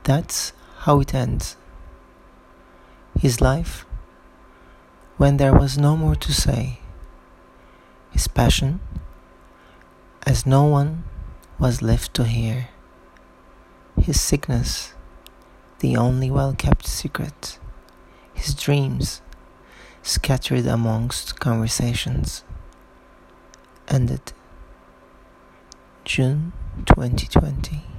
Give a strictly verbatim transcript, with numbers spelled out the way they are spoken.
That's how it ends. His life, when there was no more to say. His passion, as no one was left to hear. His sickness, the only well-kept secret. His dreams, scattered amongst conversations. Ended June twenty twenty.